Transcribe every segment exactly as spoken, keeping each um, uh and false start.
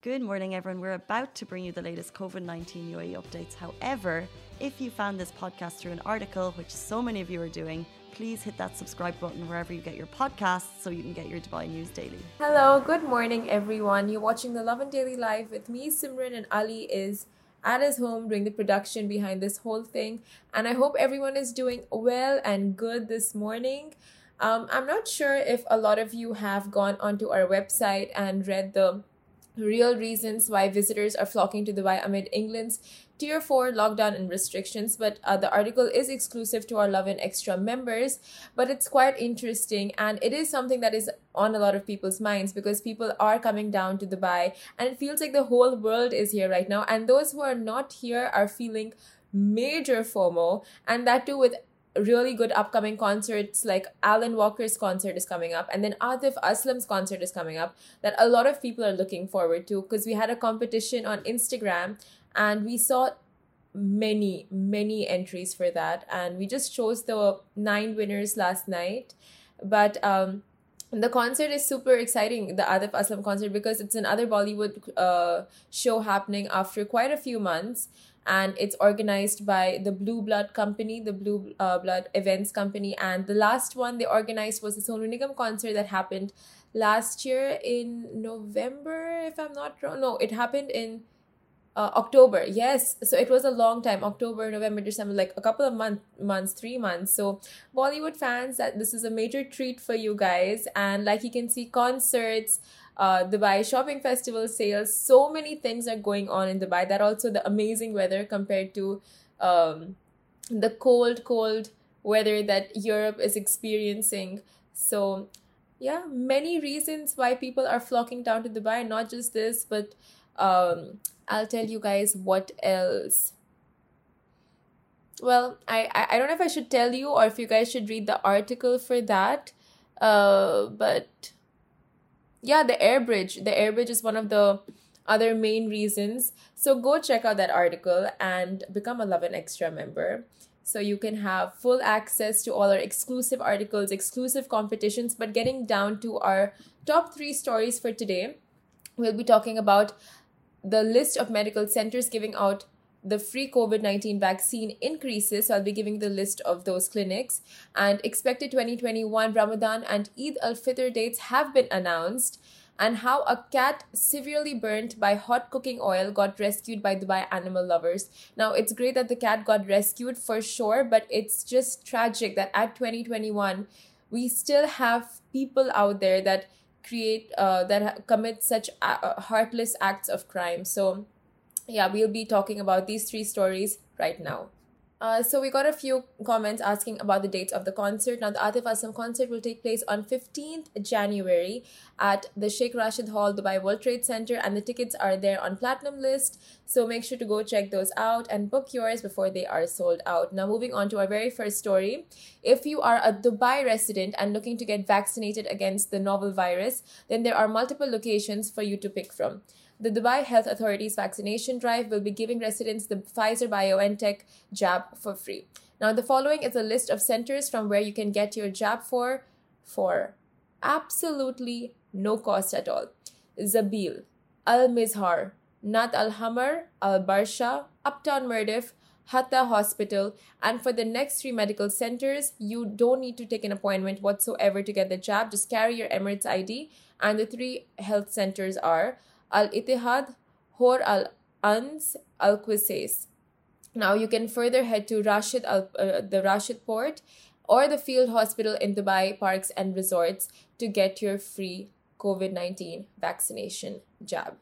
Good morning, everyone. We're about to bring you the latest COVID nineteen U A E updates. However, if you found this podcast through an article, which so many of you are doing, please hit that subscribe button wherever you get your podcasts so you can get your Dubai news daily. Hello, good morning, everyone. You're watching the Love and Daily Live with me, Simran, and Ali is at his home doing the production behind this whole thing. And I hope everyone is doing well and good this morning. Um, I'm not sure if a lot of you have gone onto our website and read the real reasons why visitors are flocking to Dubai amid England's Tier four lockdown and restrictions, but uh, the article is exclusive to our Love and Extra members, but it's quite interesting and it is something that is on a lot of people's minds because people are coming down to Dubai and it feels like the whole world is here right now, and those who are not here are feeling major FOMO, and that too with really good upcoming concerts. Like Alan Walker's concert is coming up, and then Atif Aslam's concert is coming up that a lot of people are looking forward to, because we had a competition on Instagram and we saw many many entries for that, and we just chose the nine winners last night. But um the concert is super exciting, the Atif Aslam concert, because it's another Bollywood uh, show happening after quite a few months, and it's organized by the Blue Blood Company, the Blue uh, Blood Events Company. And the last one they organized was the Sonu Nigam concert that happened last year in November, if I'm not wrong. No, it happened in uh, October. Yes, so it was a long time, October, November, December, like a couple of month, months, three months. So Bollywood fans, that this is a major treat for you guys. And like you can see, concerts, uh, Dubai Shopping Festival sales, so many things are going on in Dubai. That also the amazing weather compared to um, the cold, cold weather that Europe is experiencing. So yeah, many reasons why people are flocking down to Dubai. Not just this, but um, I'll tell you guys what else. Well, I, I, I don't know if I should tell you or if you guys should read the article for that. Uh, but yeah, the air bridge. The air bridge is one of the other main reasons. So go check out that article and become a Love and Extra member, so you can have full access to all our exclusive articles, exclusive competitions. But getting down to our top three stories for today, we'll be talking about the list of medical centers giving out the free COVID nineteen vaccine increases. So I'll be giving the list of those clinics. And expected twenty twenty-one Ramadan and Eid al-Fitr dates have been announced. And how a cat severely burnt by hot cooking oil got rescued by Dubai animal lovers. Now, it's great that the cat got rescued for sure, but it's just tragic that at twenty twenty-one, we still have people out there that create, uh, that commit such uh, heartless acts of crime. So yeah, we'll be talking about these three stories right now. Uh, so we got a few comments asking about the dates of the concert. Now, the Atif Aslam concert will take place on fifteenth January at the Sheikh Rashid Hall, Dubai World Trade Center, and the tickets are there on Platinum List. So make sure to go check those out and book yours before they are sold out. Now, moving on to our very first story. If you are a Dubai resident and looking to get vaccinated against the novel virus, then there are multiple locations for you to pick from. The Dubai Health Authority's vaccination drive will be giving residents the Pfizer-BioNTech jab for free. Now, the following is a list of centers from where you can get your jab for, for absolutely no cost at all. Zabil, Al-Mizhar, Nat Al-Hamar, Al-Barsha, Uptown Mirdif, Hatta Hospital. And for the next three medical centers, you don't need to take an appointment whatsoever to get the jab. Just carry your Emirates I D. And the three health centers are Al-Ittihad, Hor Al-Ans, Al-Qusais. Now, you can further head to Rashid Al, uh, the Rashid Port or the Field Hospital in Dubai Parks and Resorts to get your free COVID nineteen vaccination jab.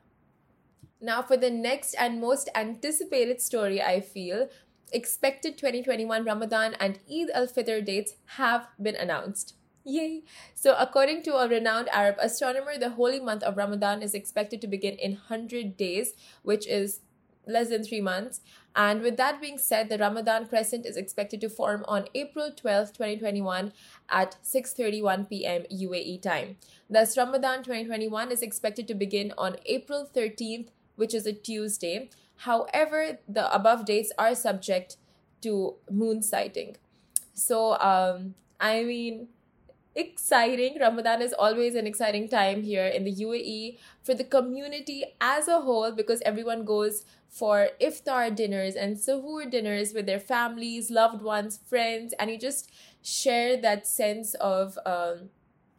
Now, for the next and most anticipated story, I feel, expected twenty twenty-one Ramadan and Eid al-Fitr dates have been announced. Yay! So according to a renowned Arab astronomer, the holy month of Ramadan is expected to begin in one hundred days, which is less than three months. And with that being said, the Ramadan crescent is expected to form on April twelfth, twenty twenty-one at six thirty-one p.m. U A E time. Thus, Ramadan twenty twenty-one is expected to begin on April thirteenth, which is a Tuesday. However, the above dates are subject to moon sighting. So, um, I mean, exciting. Ramadan is always an exciting time here in the U A E for the community as a whole, because everyone goes for iftar dinners and suhoor dinners with their families, loved ones, friends, and you just share that sense of um,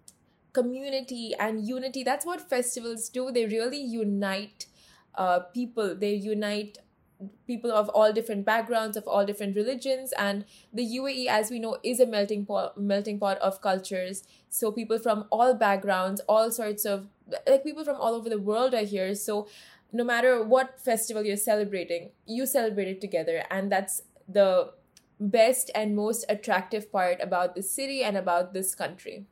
community and unity. That's what festivals do. They really unite uh, people. They unite people of all different backgrounds, of all different religions, and the U A E, as we know, is a melting pot melting pot of cultures. So people from all backgrounds, all sorts of, like, people from all over the world are here. So no matter what festival you're celebrating, you celebrate it together, and that's the best and most attractive part about this city and about this country.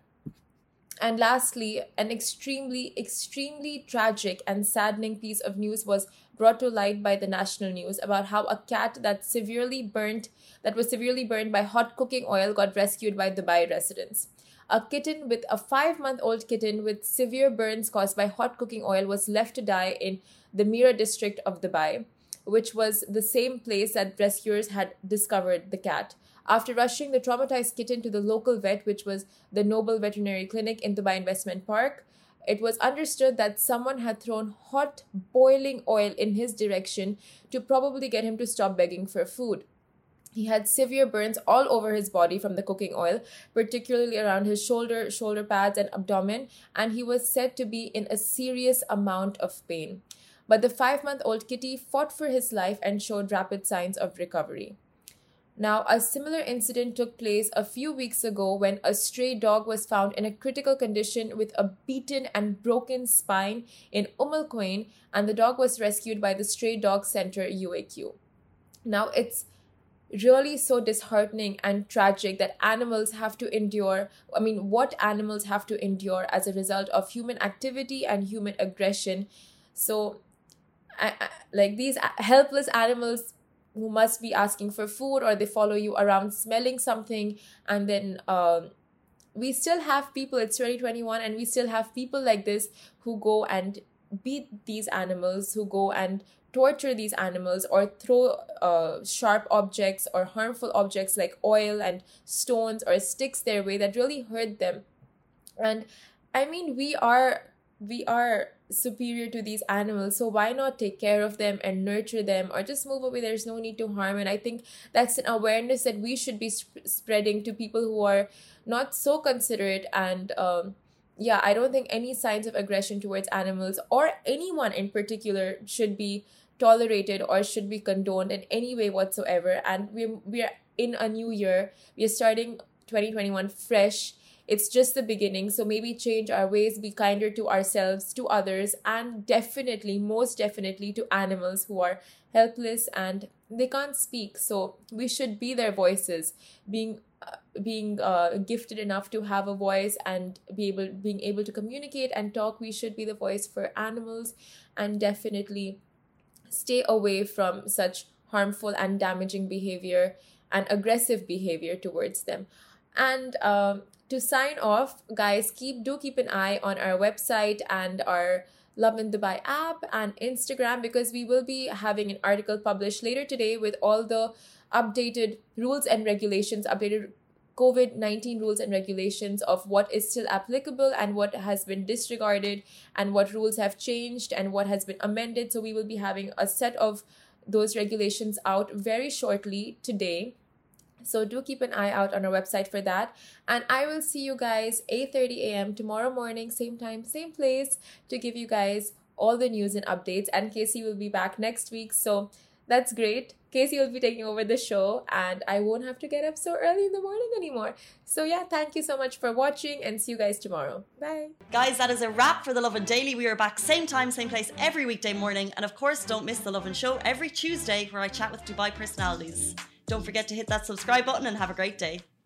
And lastly, an extremely, extremely tragic and saddening piece of news was brought to light by the national news about how a cat that severely burnt, that was severely burned by hot cooking oil got rescued by Dubai residents. A kitten with a five-month-old kitten with severe burns caused by hot cooking oil was left to die in the Mira district of Dubai, which was the same place that rescuers had discovered the cat. After rushing the traumatized kitten to the local vet, which was the Noble Veterinary Clinic in Dubai Investment Park, it was understood that someone had thrown hot, boiling oil in his direction to probably get him to stop begging for food. He had severe burns all over his body from the cooking oil, particularly around his shoulder, shoulder pads, and abdomen, and he was said to be in a serious amount of pain. But the five-month-old kitty fought for his life and showed rapid signs of recovery. Now, a similar incident took place a few weeks ago when a stray dog was found in a critical condition with a beaten and broken spine in Umm Al Quwain, and the dog was rescued by the Stray Dog Center U A Q. Now, it's really so disheartening and tragic that animals have to endure, I mean, what animals have to endure as a result of human activity and human aggression. So, I, I, like these helpless animals who must be asking for food, or they follow you around smelling something, and then um, we still have people, it's twenty twenty-one, and we still have people like this who go and beat these animals, who go and torture these animals, or throw uh, sharp objects or harmful objects like oil and stones or sticks their way that really hurt them. And I mean, we are we are superior to these animals, so why not take care of them and nurture them, or just move away? There's no need to harm. And I think that's an awareness that we should be sp- spreading to people who are not so considerate. And um yeah, I don't think any signs of aggression towards animals or anyone in particular should be tolerated or should be condoned in any way whatsoever. And we're we're in a new year. We're starting twenty twenty-one fresh. It's just the beginning, so maybe change our ways, be kinder to ourselves, to others, and definitely, most definitely, to animals who are helpless and they can't speak. So we should be their voices, being uh, being uh, gifted enough to have a voice and be able being able to communicate and talk. We should be the voice for animals, and definitely stay away from such harmful and damaging behavior and aggressive behavior towards them. And um, to sign off, guys, keep do keep an eye on our website and our Lovin Dubai app and Instagram, because we will be having an article published later today with all the updated rules and regulations, updated COVID nineteen rules and regulations of what is still applicable and what has been disregarded and what rules have changed and what has been amended. So we will be having a set of those regulations out very shortly today. So do keep an eye out on our website for that. And I will see you guys eight thirty a.m. tomorrow morning, same time, same place, to give you guys all the news and updates. And Casey will be back next week. So that's great. Casey will be taking over the show and I won't have to get up so early in the morning anymore. So yeah, thank you so much for watching and see you guys tomorrow. Bye. Guys, that is a wrap for The Lovin Daily. We are back same time, same place every weekday morning. And of course, don't miss The Lovin Show every Tuesday where I chat with Dubai personalities. Don't forget to hit that subscribe button and have a great day.